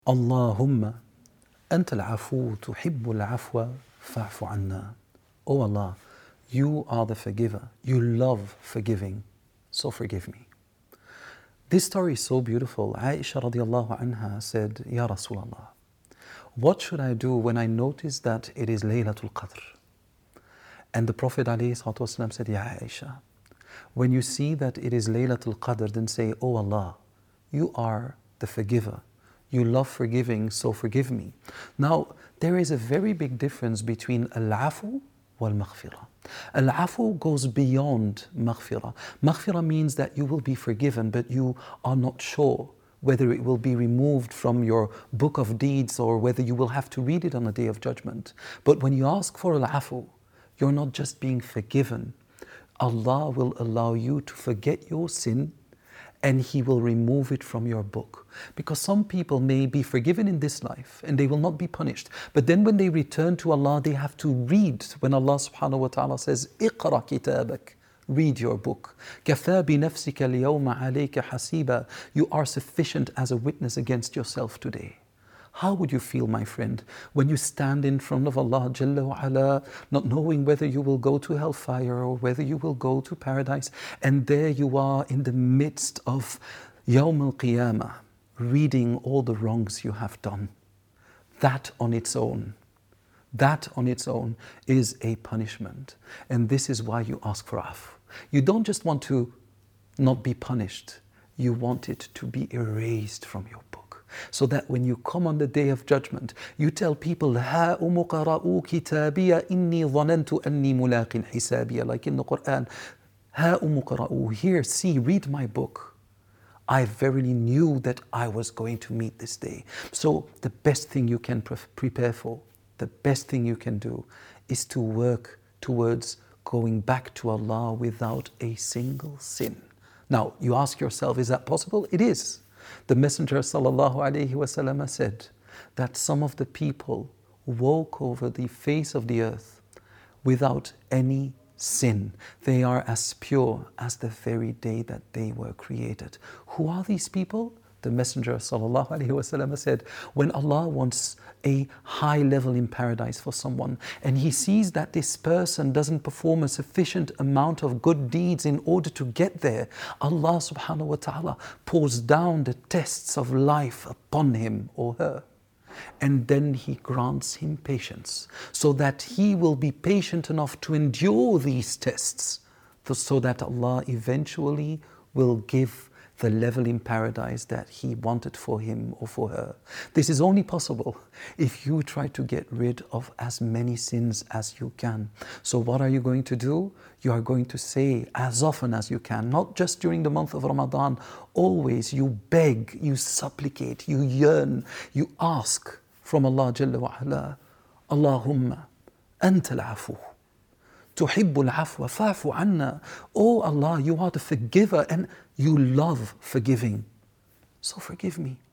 Allahumma anta al-afu tuhibbu al-afwa fa'fu anna. Oh Allah, you are the forgiver. You love forgiving, so forgive me. This story is so beautiful. Aisha radiallahu anha said, Ya Rasulullah, what should I do when I notice that it is Laylatul Qadr? And the Prophet ﷺ said, Ya Aisha, when you see that it is Laylatul Qadr, then say, Oh Allah, you are the forgiver. You love forgiving, so forgive me. Now, there is a very big difference between al-afu wal-maghfirah. Al-afu goes beyond maghfirah. Maghfirah means that you will be forgiven, but you are not sure whether it will be removed from your book of deeds or whether you will have to read it on the Day of Judgment. But when you ask for al-afu, you're not just being forgiven. Allah will allow you to forget your sin and He will remove it from your book. Because some people may be forgiven in this life and they will not be punished. But then when they return to Allah, they have to read. When Allah subhanahu wa ta'ala says, اقرأ كتابك, read your book. كَفَى بِنَفْسِكَ الْيَوْمَ عَلَيْكَ حَسِيبًا. You are sufficient as a witness against yourself today. How would you feel, my friend, when you stand in front of Allah Jalla wa Ala, not knowing whether you will go to hellfire or whether you will go to paradise, and there you are in the midst of Yawm al-Qiyamah, reading all the wrongs you have done? That on its own is a punishment. And this is why you ask for afu. You don't just want to not be punished, you want it to be erased from your book. So that when you come on the Day of Judgment, you tell people, هَا أُمُقَرَأُوا كِتَابِيَ إِنِّي ظَنَنْتُ أَنِّي مُلَاقٍ حِسَابِيَ. Like in the Quran, هَا أُمُقَرَأُوا, here, see, read my book. I verily knew that I was going to meet this day. So the best thing you can prepare for, the best thing you can do is to work towards going back to Allah without a single sin. Now, you ask yourself, is that possible? It is. The Messenger sallallahu alaihi wasallam said that some of the people walk over the face of the earth without any sin. They are as pure as the very day that they were created. Who are these people? The Messenger sallallahu alaihi wasallam said, when Allah wants a high level in paradise for someone and He sees that this person doesn't perform a sufficient amount of good deeds in order to get there, Allah subhanahu wa ta'ala pours down the tests of life upon him or her. And then He grants him patience so that he will be patient enough to endure these tests, so that Allah eventually will give the level in paradise that He wanted for him or for her. This is only possible if you try to get rid of as many sins as you can. So what are you going to do? You are going to say as often as you can, not just during the month of Ramadan, always you beg, you supplicate, you yearn, you ask from Allah Jalla wa Ala, Allahumma anta al-afu tuhibbu al-afwa fa'fu anna. Oh Allah, you are the forgiver and you love forgiving, so forgive me.